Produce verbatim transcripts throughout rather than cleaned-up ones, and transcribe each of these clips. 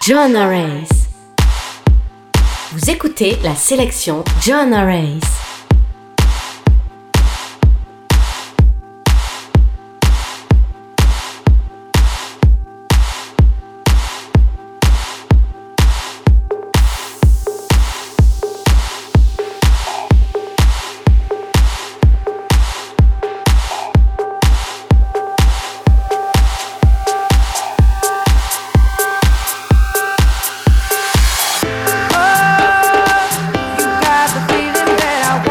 Joanna Rays. Vous écoutez la sélection Joanna Rays. Oh, you got the feeling that I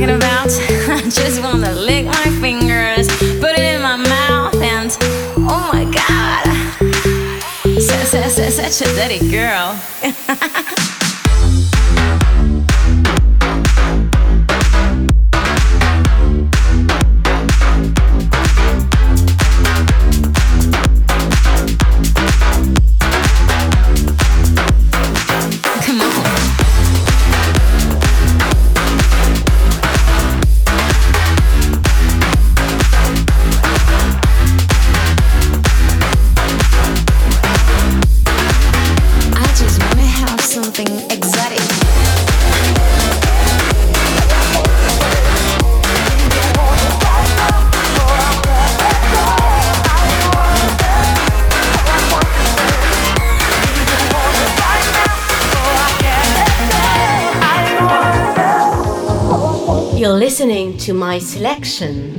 talking about? I just wanna lick my fingers, put it in my mouth, and oh my god, such a dirty girl. You're listening to my selection.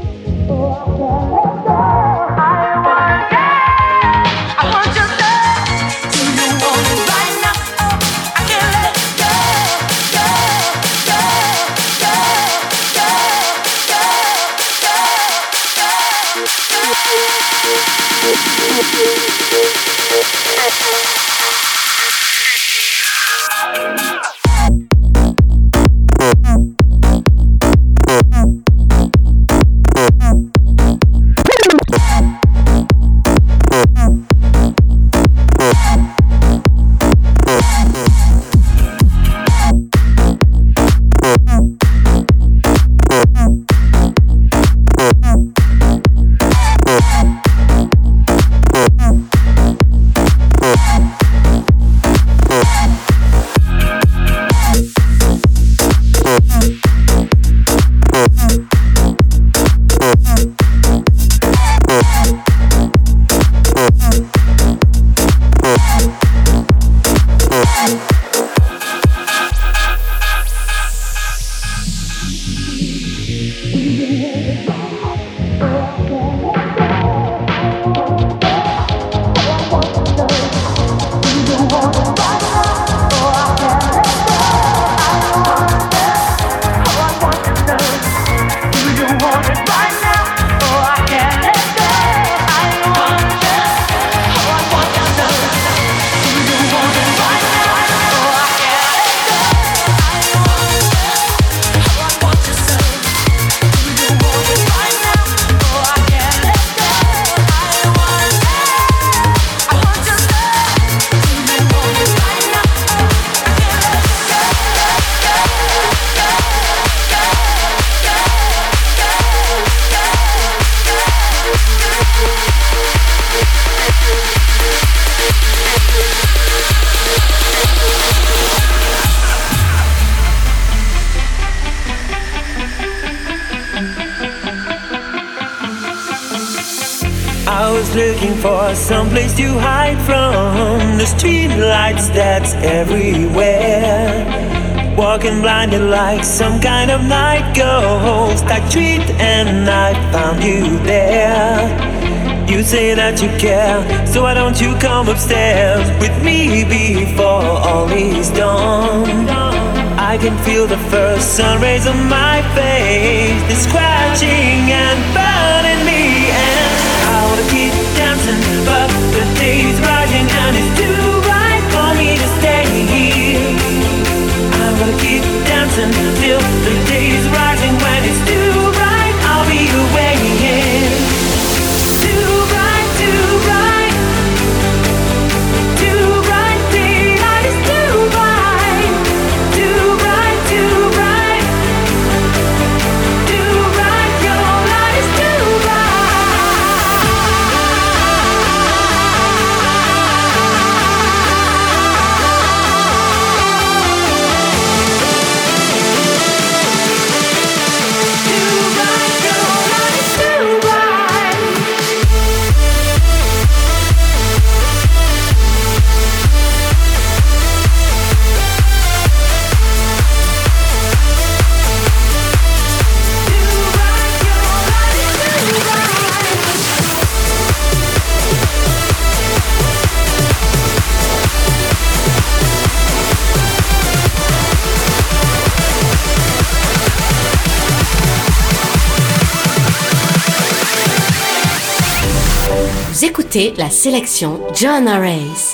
Looking for someplace to hide from the street lights that's everywhere. Walking blinded like some kind of night ghost. I treat and I found you there. You say that you care, so why don't you come upstairs with me before all is done? I can feel the first sun rays on my face. They're scratching and burning me, and I wanna keep dancing, but the day's rising and it's too bright for me to stay here. I'm gonna keep dancing till the day's rising. When it's too bright, I'll be away. Too bright, too bright, too bright. Daylight is too bright, too bright, too bright, too bright. Your light is too bright. écoutez la sélection Joanna Reyes.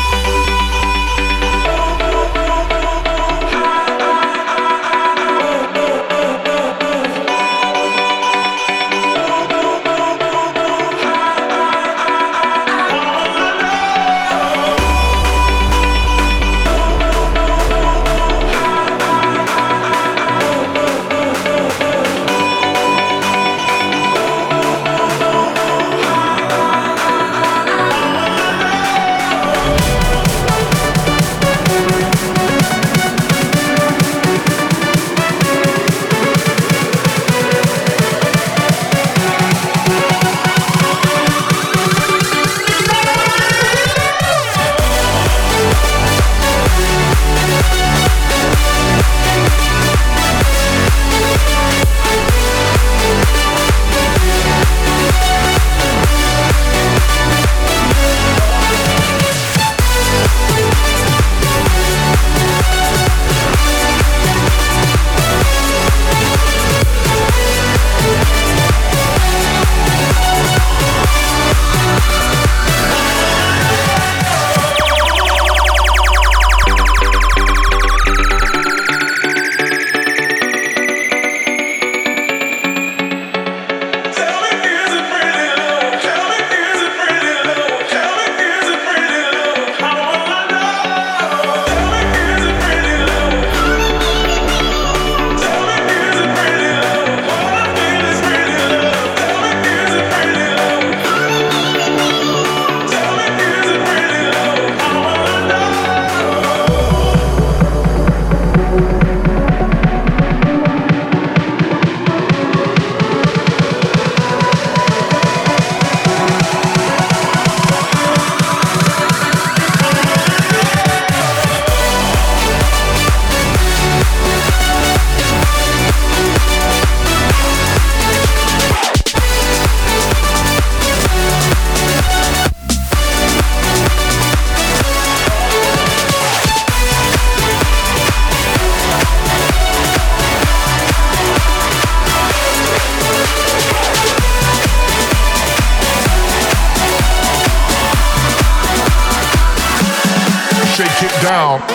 Down.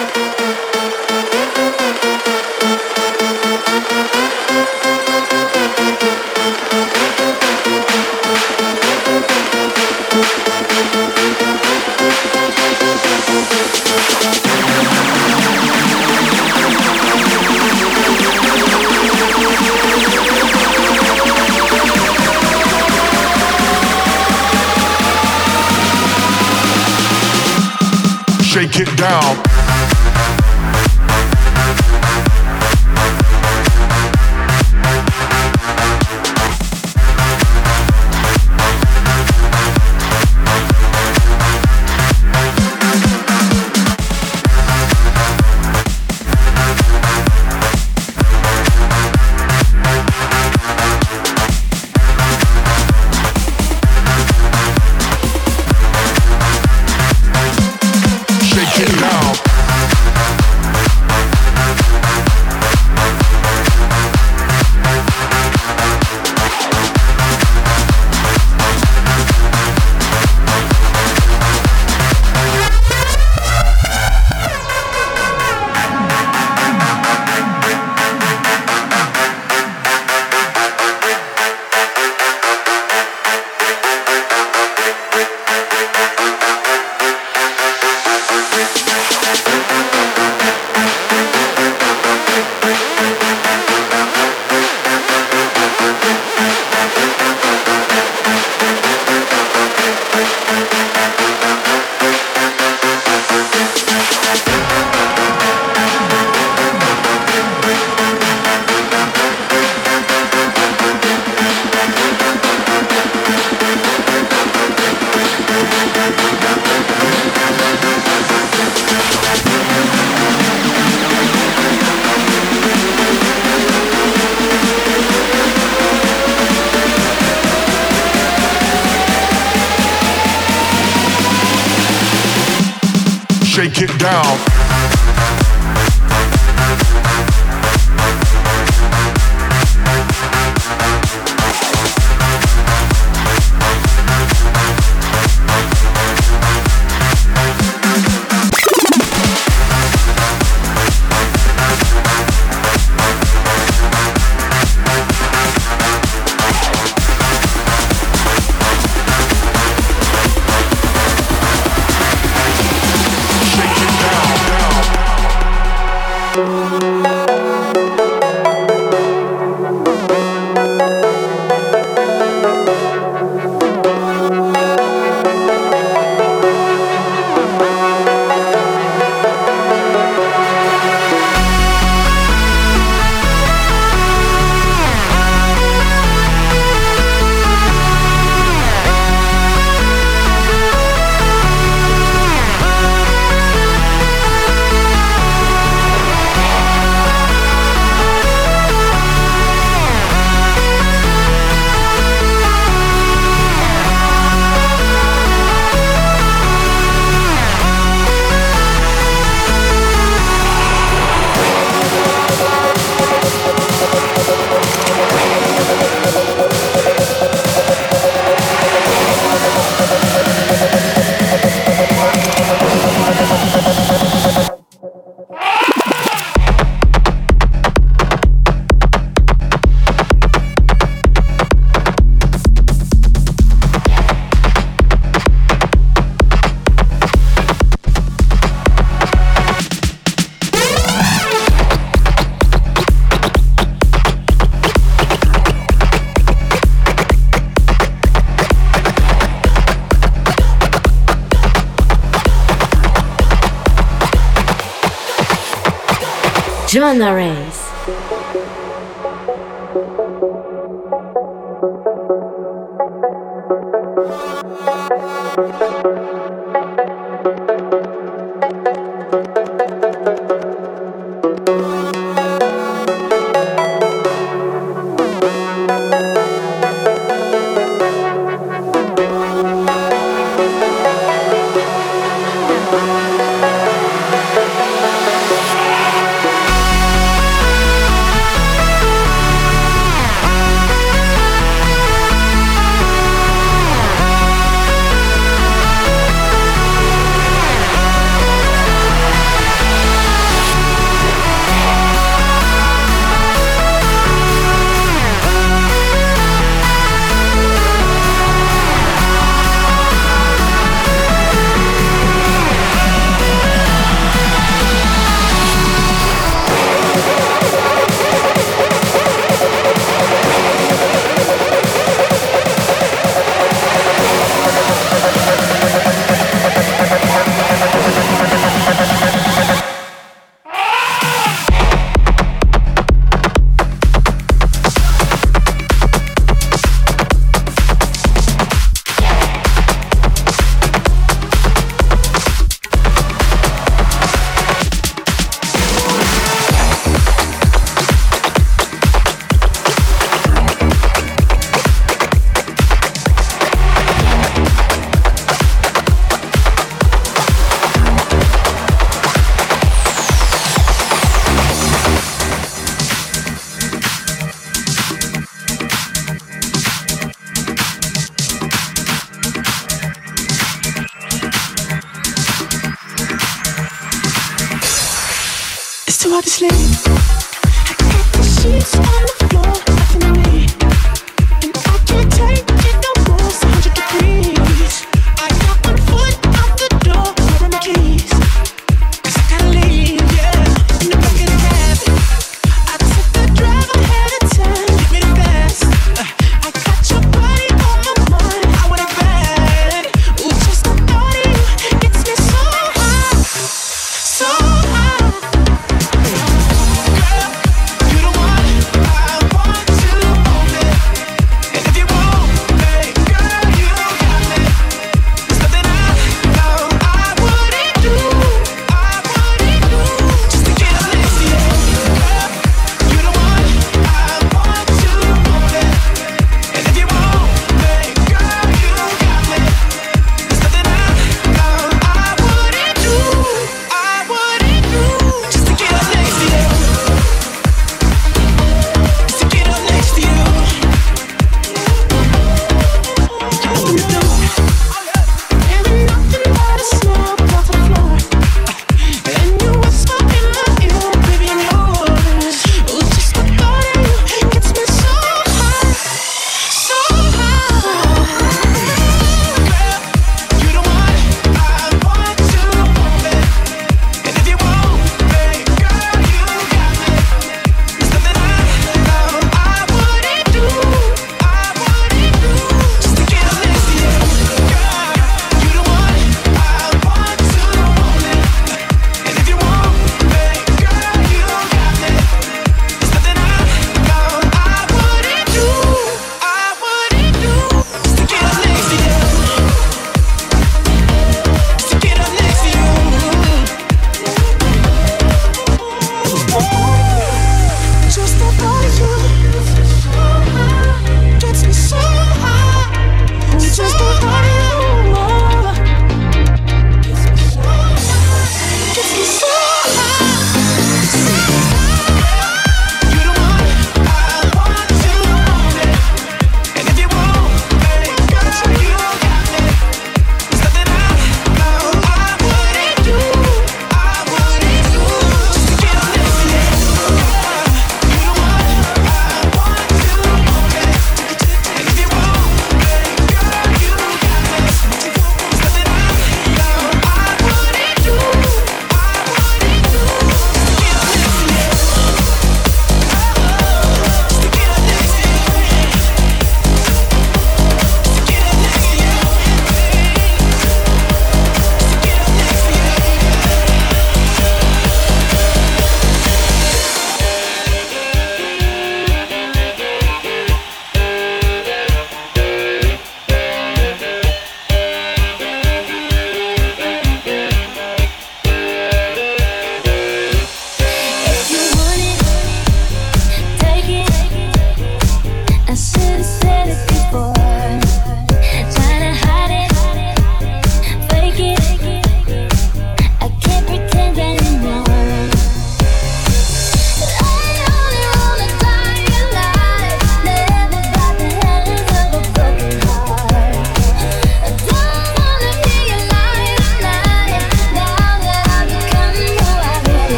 Shake it down. Shake it down. Joanna Reyes.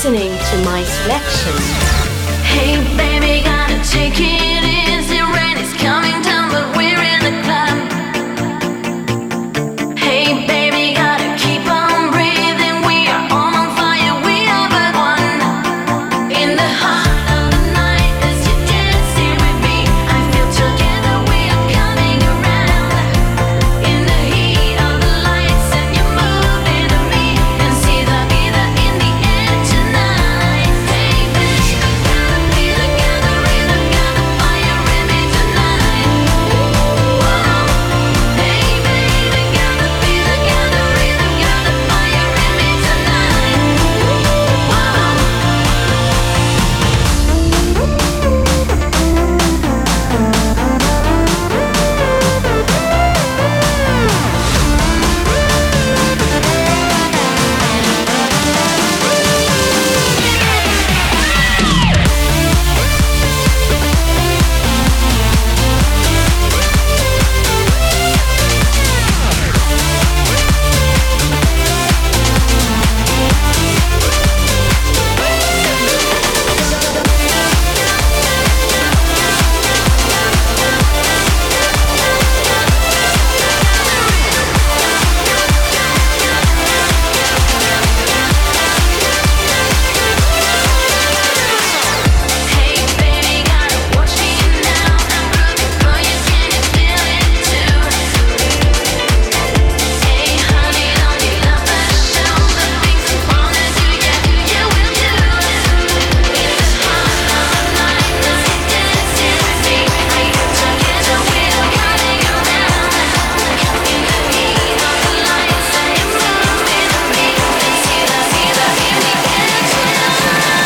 listening to my selection. Hey baby, gotta take it easy. Rain is coming down, but we're in the club. Hey baby, gotta keep on breathing. We are all on fire, we are but one. In the heart of the night, as you dancing with me, I feel together we are coming around. In the heat of the lights, and you're moving to me, and see the vida in the air tonight. Hey baby, gotta feel it, gotta rhythm, gotta fire in me tonight. Whoa. Hey baby, gotta feel it, gotta rhythm, gotta fire in me tonight. Whoa. Hey baby, gotta watch me now. I'm rooting for you, can you feel it too? Hey honey, don't you love the show? The things we wanna do, yeah, yeah we'll do. In the heart of the night, as you dancing with me, I feel together we are coming around. In the heat of the lights, and you're moving to me, and see the vida in the air tonight.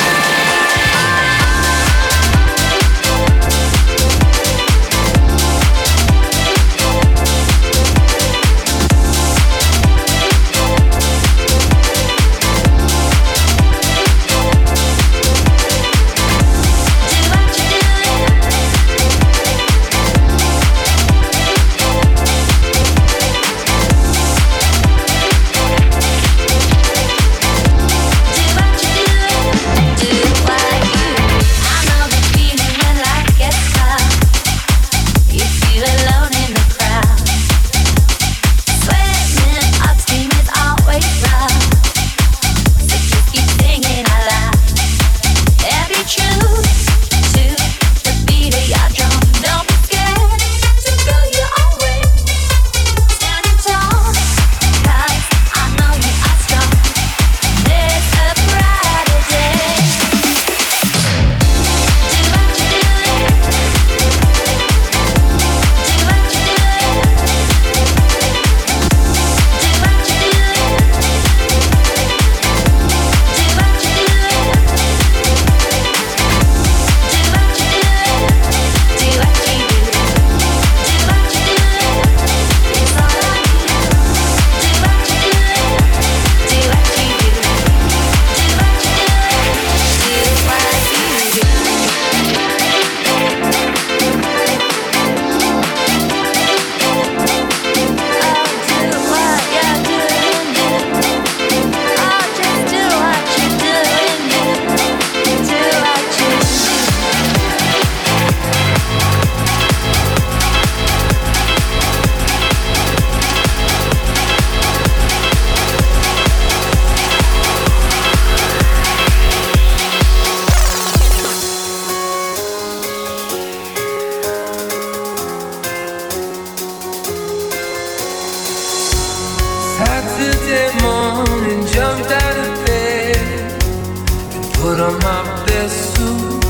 Saturday morning, jumped out of bed and put on my best suit.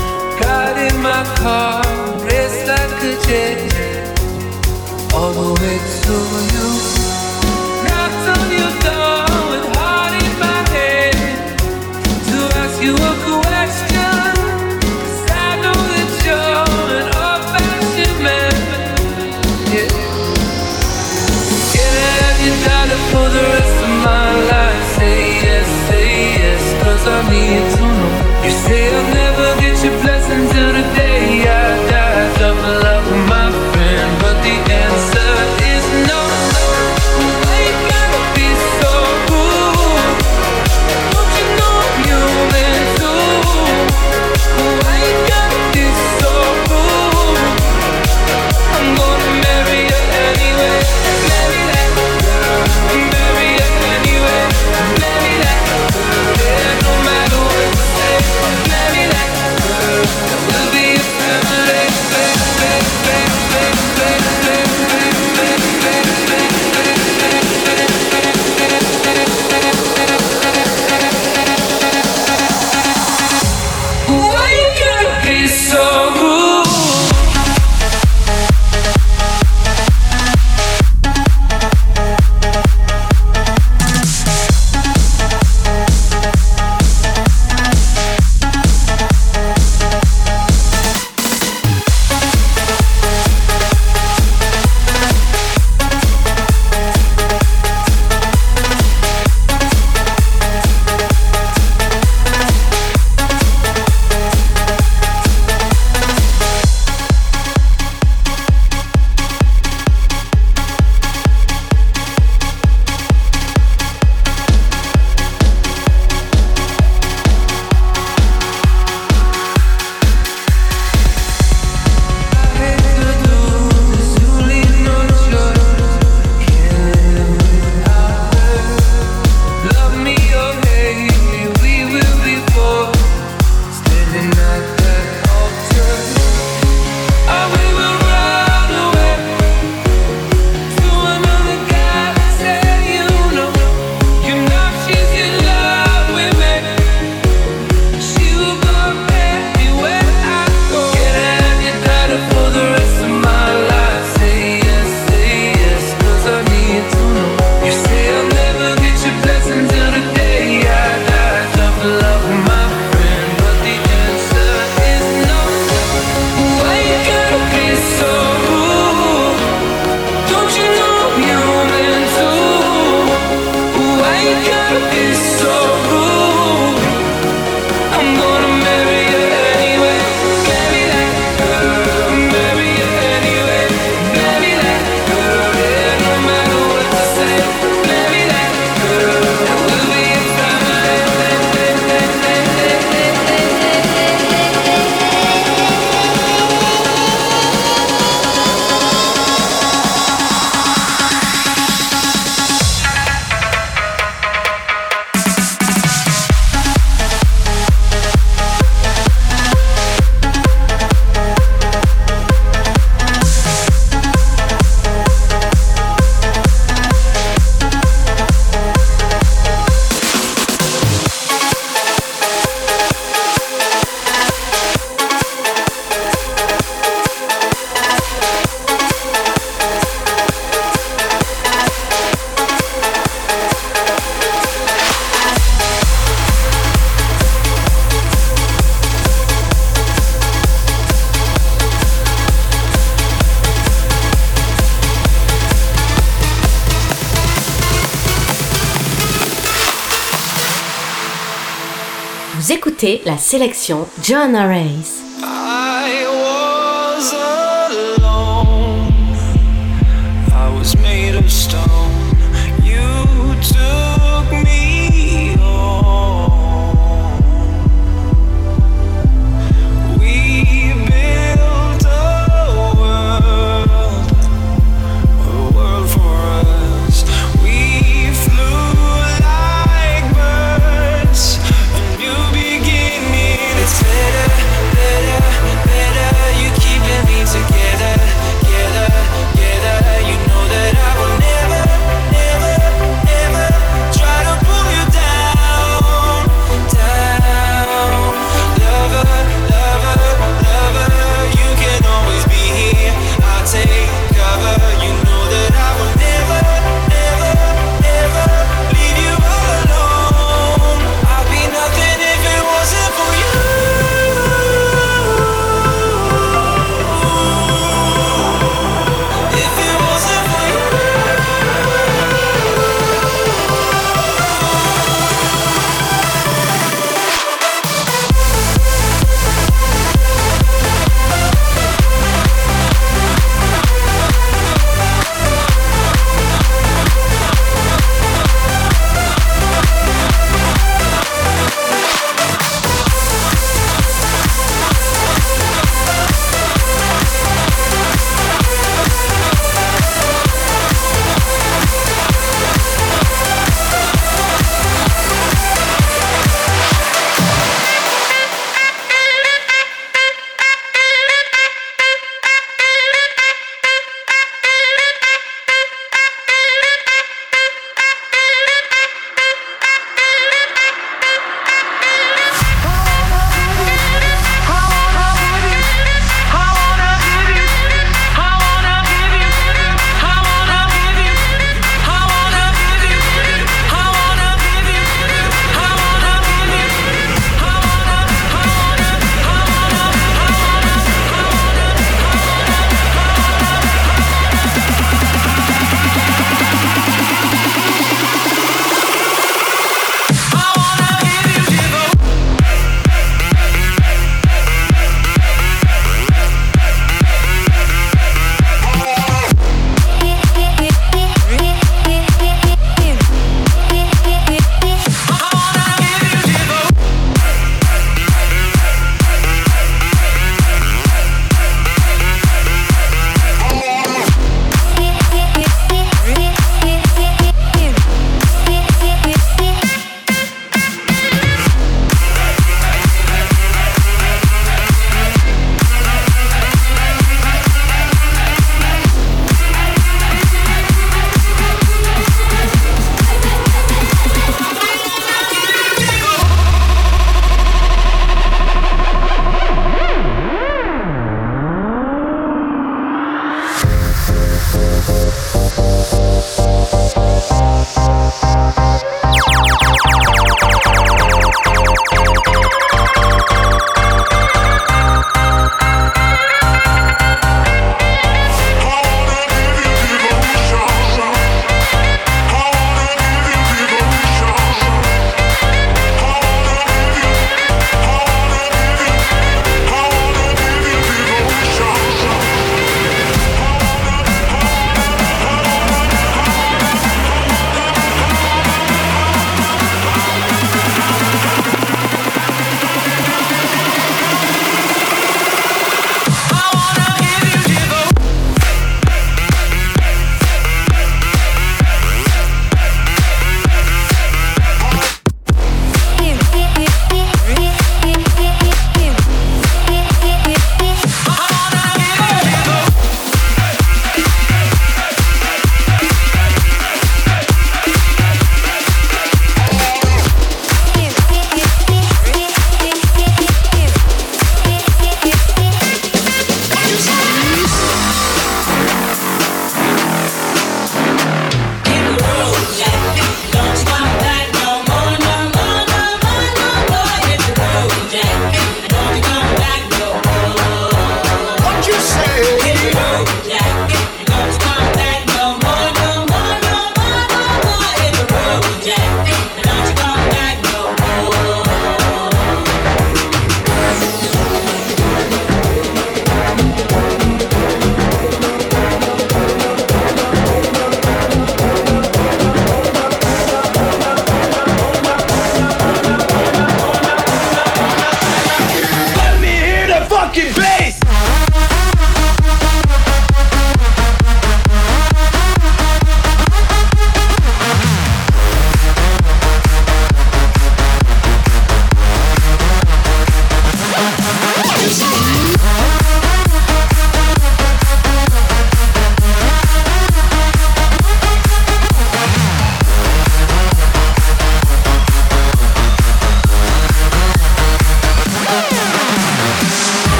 Got in my car, raced like a jet all the way to you. Knocked on your door with heart in my head to ask you a question, 'cause I know that you're an old-fashioned man. Yeah. Can I have your dollar for the rest of my life? Say yes, say yes, 'cause I need to know. You say I'll never get your blessing till the day I die. Double up with my friend, but the answer is no, no. Vous écoutez la sélection Joanna Reyes. I was alone. I was made of stone. You took me home. We built a world, a world for us. We flew like birds. A new beginning. It's better, better.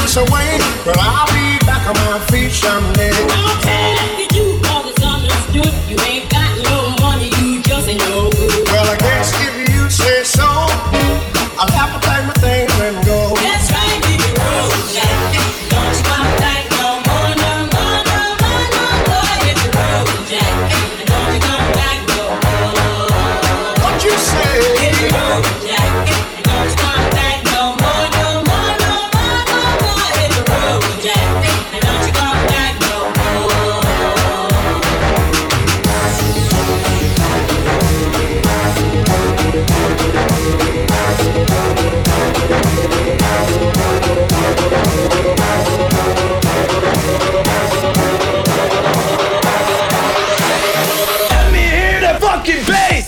dance away, but I'll be back on my feet someday. I'll tell it to you, cause it's understood. You ain't got no money, you just ain't no good. Well, I guess if you say so, I'll have to pack my things and go. That's right, hit the road, Jack. Don't you come back no more, no more, no more, no more. Hit the road, Jack. And don't you come back no more. What you say? Hit the road, Jack. And don't you come back no more, no more, no more, no more. Hit the road, Jack. And don't you come back no more. Let me hear that fucking bass!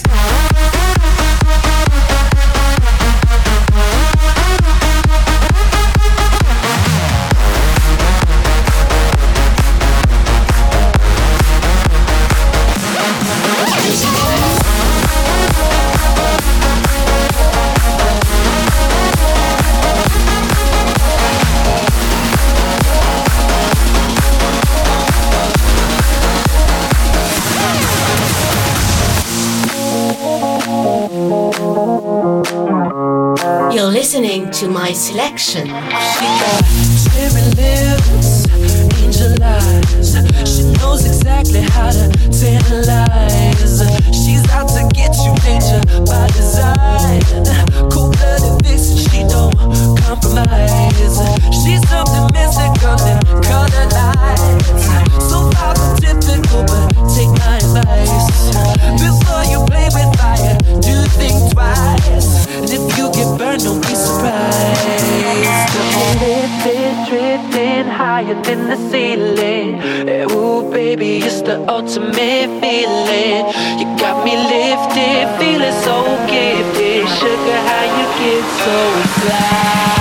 You're listening to my selection. She got cherry lips, angel eyes. She knows exactly how to tantalize. She's out to get you, danger by design. Cold-blooded vixen, she don't compromise. She's something mystical and color lights. So far from typical, but take my advice. Before you play with fire, do think twice. And if you get burned, don't be surprised. Lifted, drifting higher than the ceiling. Ooh, baby, it's the ultimate feeling. You got me lifted, feeling so gifted. Sugar, how you get so fly?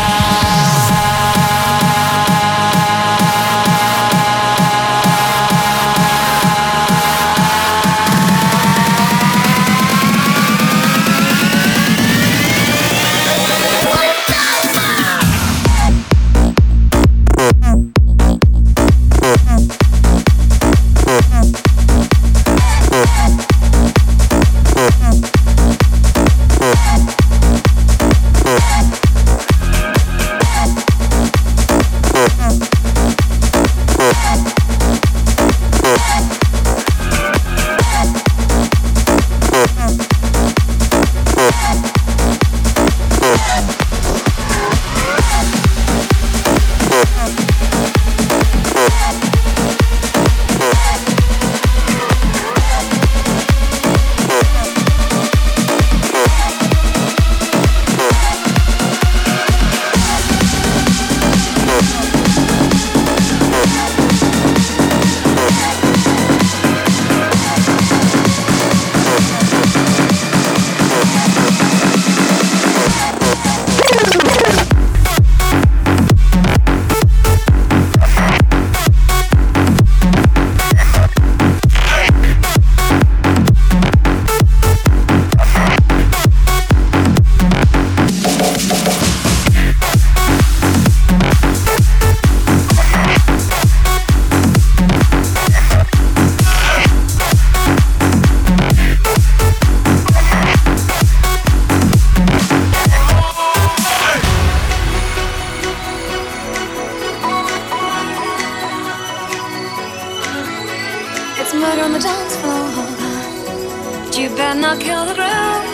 murder on the dance floor. But you better not kill the groove.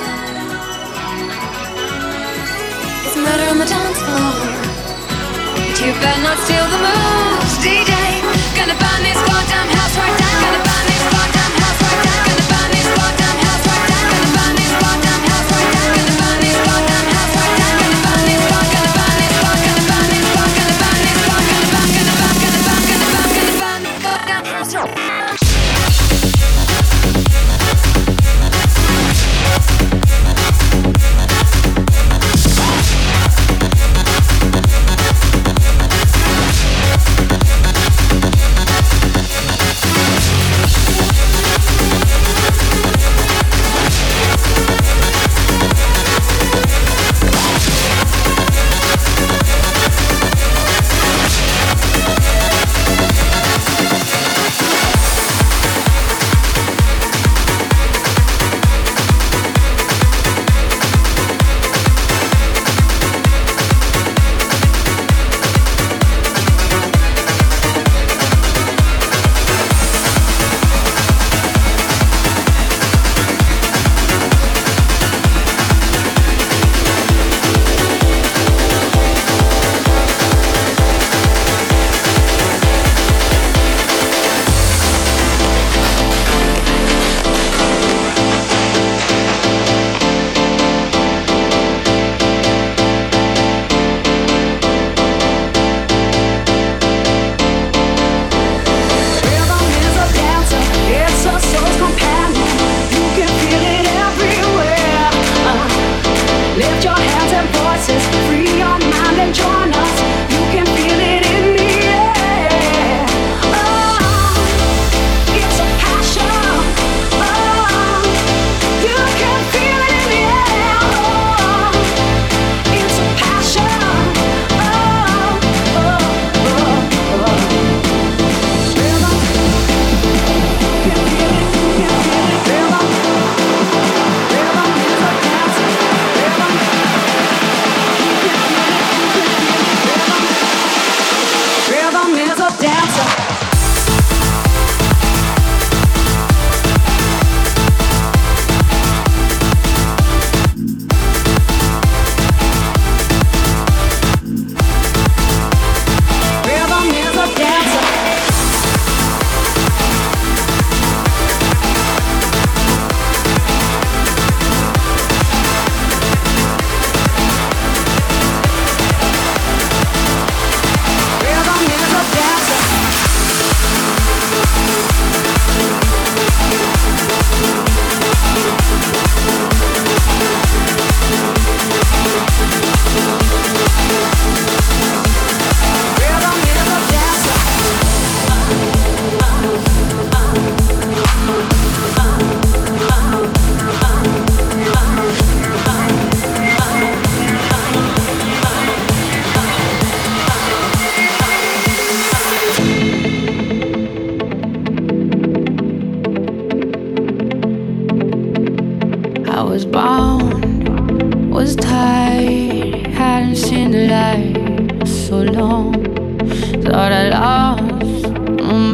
It's murder on the dance floor. But you better not steal the moves, D J. Gonna burn this goddamn house right down. Gonna burn this goddamn house right down. Gonna burn this goddamn house right down. Gonna burn this goddamn house right down. Gonna burn this goddamn house right down. Gonna burn this god. Gonna burn this god. Gonna burn this god. Gonna burn this god. Gonna burn. Gonna burn. Gonna burn. Gonna burn. Gonna burn the goddamn house right down.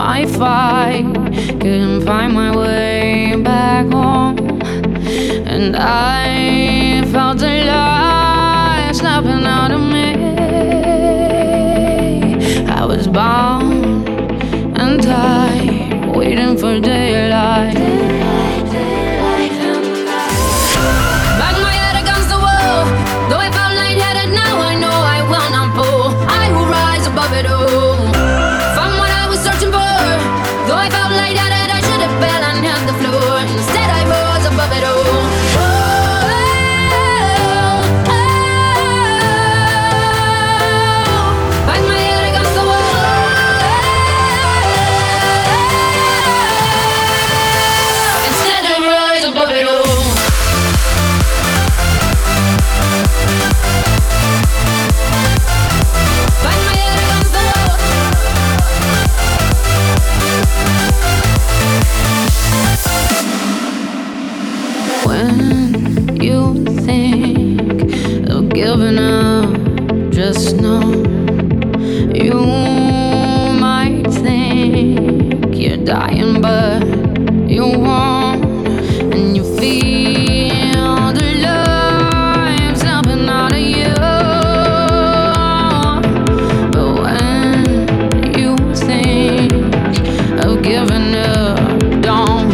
I fight, couldn't find my way back home. And I felt a light snapping out of me. I was bound and tied, waiting for daylight. Bang my head against the wall. Though I felt lightheaded, now I know I will not fall. I will rise above it all. Found what I was searching for. Though I felt lightheaded, I should have fell and hit the floor. Instead I rose above it all. When you think of giving up, just know you might think you're dying, but you won't. And you feel the life snapping out of you. But when you think of giving up, don't.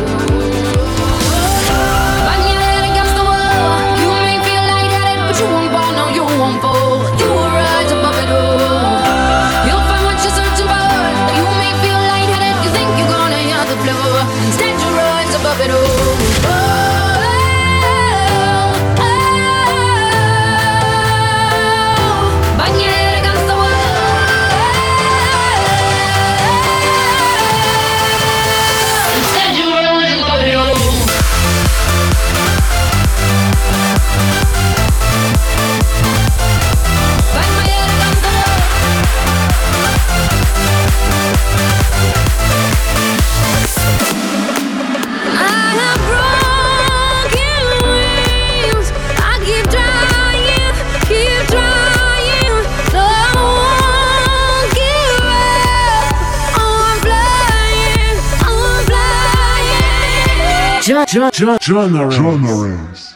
Genres.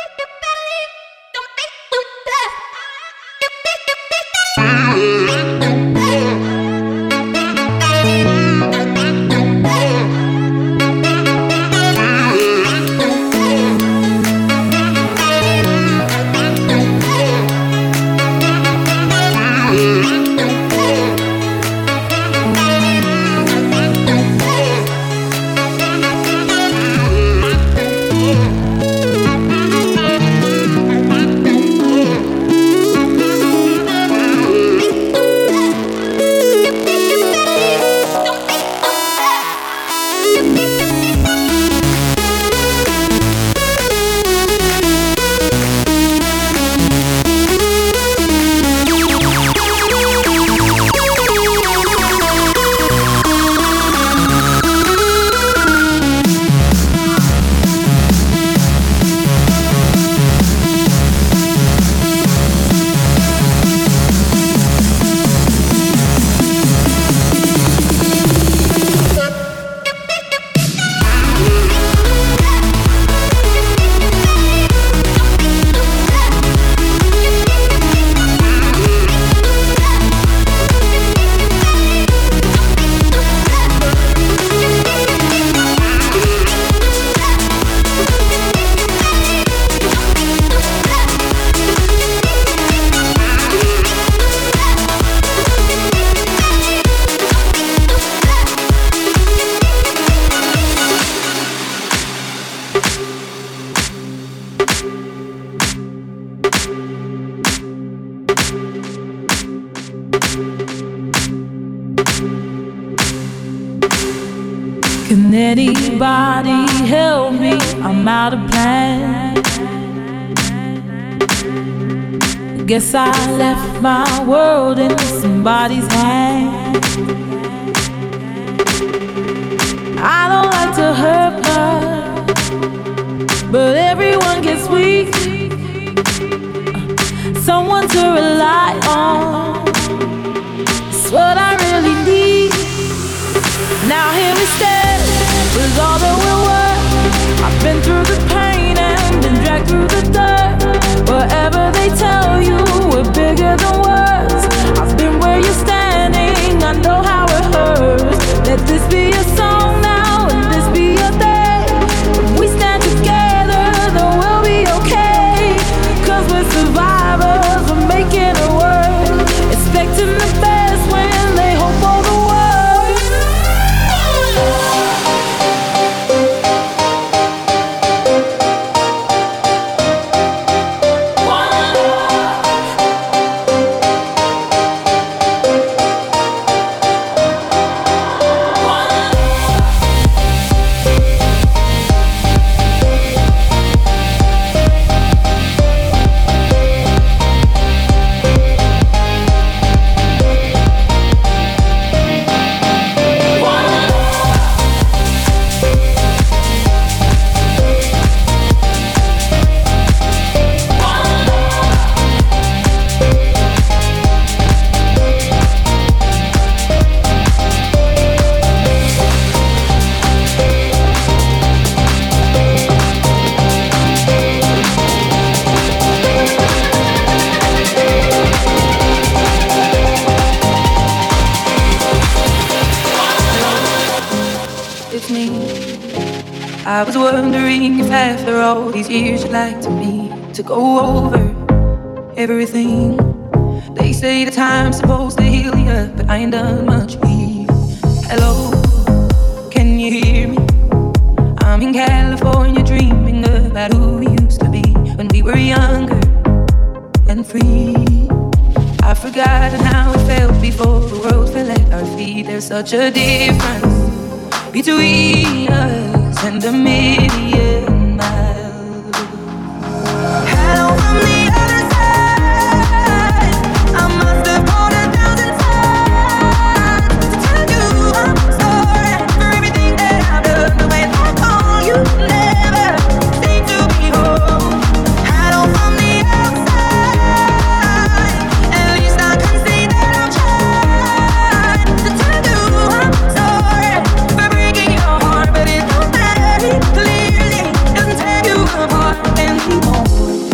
Can anybody help me? I'm out of plan. Guess I left my world in somebody's hand. I don't like to hurt much, but everyone gets weak. Someone to rely on. It's what I really need. through the pain and been dragged through the dirt. Whatever they tell you, we're bigger than words. I've been where you're standing, I know how it hurts. Let this be a song now, and this be your day. If we stand together, then we'll be okay. Cause we're survivors, we're making it work. Expecting the best when they hope for the worst. I was wondering if after all these years you'd like to me to go over everything. They say the time's supposed to heal you, but I ain't done much here. Hello, can you hear me? I'm in California dreaming about who we used to be when we were younger and free. I've forgotten how it felt before the world fell at our feet. There's such a difference between us and a million miles. Hello from the other side. I must have called a thousand times to tell you I'm sorry for everything that I've done. The way I call you never seem to be home. Hello from the outside. At least I can see that I'm trying to tell you I'm sorry for breaking your heart, but it don't matter. Clearly doesn't tear you apart anymore.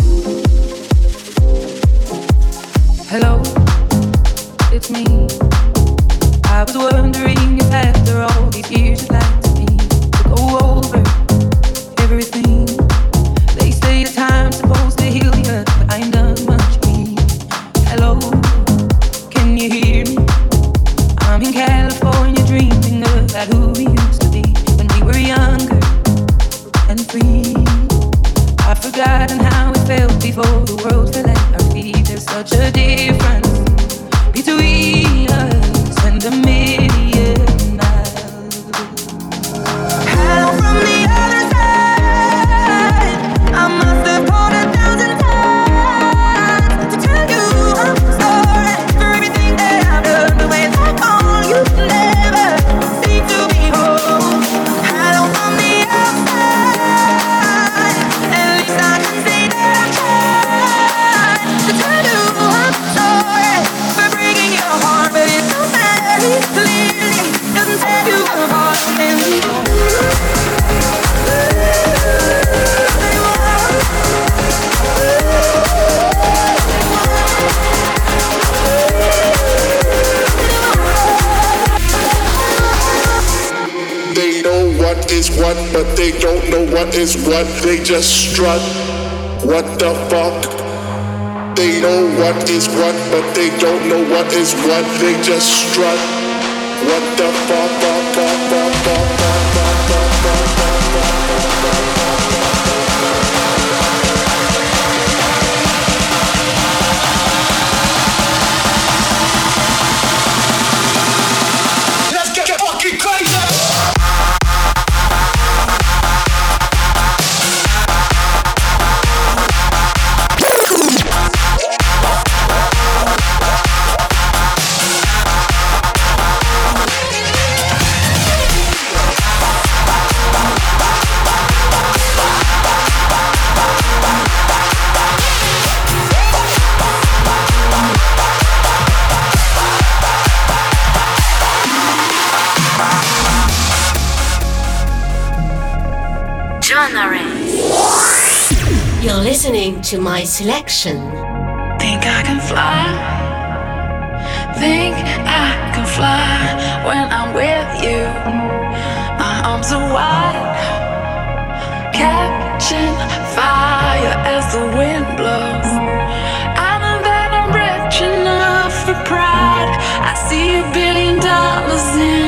Hello, it's me. I was wondering if after all these years you'd like to me to go over everything. They say the time's supposed to heal you, but I ain't done much here. Hello, can you hear me? I'm in California dreaming about who we used to be when we were younger and free. I've forgotten how it felt before the world fell at our feet. There's such a difference between us and a million miles. Hello from the other side. I must have called a thousand times to tell you I'm sorry for everything that I've done. The way I call you never seem to be home. Hello from the outside. At least I can see that I'm trying to tell you I'm sorry for breaking your heart, but it don't matter. Clearly doesn't tear you apart anymore. They know what is what, but they don't know what is what. They just strut. What the fuck? They know what is what, but they don't know what is what. They just strut. What the fuck? fuck, fuck, fuck, fuck, fuck, fuck, fuck, fuck, Let's get fucking crazy! John Array. You're listening to my selection. Think I can fly. Think I can fly when I'm with you. My arms are wide, catching fire as the wind blows. I know that I'm rich enough for pride. I see a billion dollars in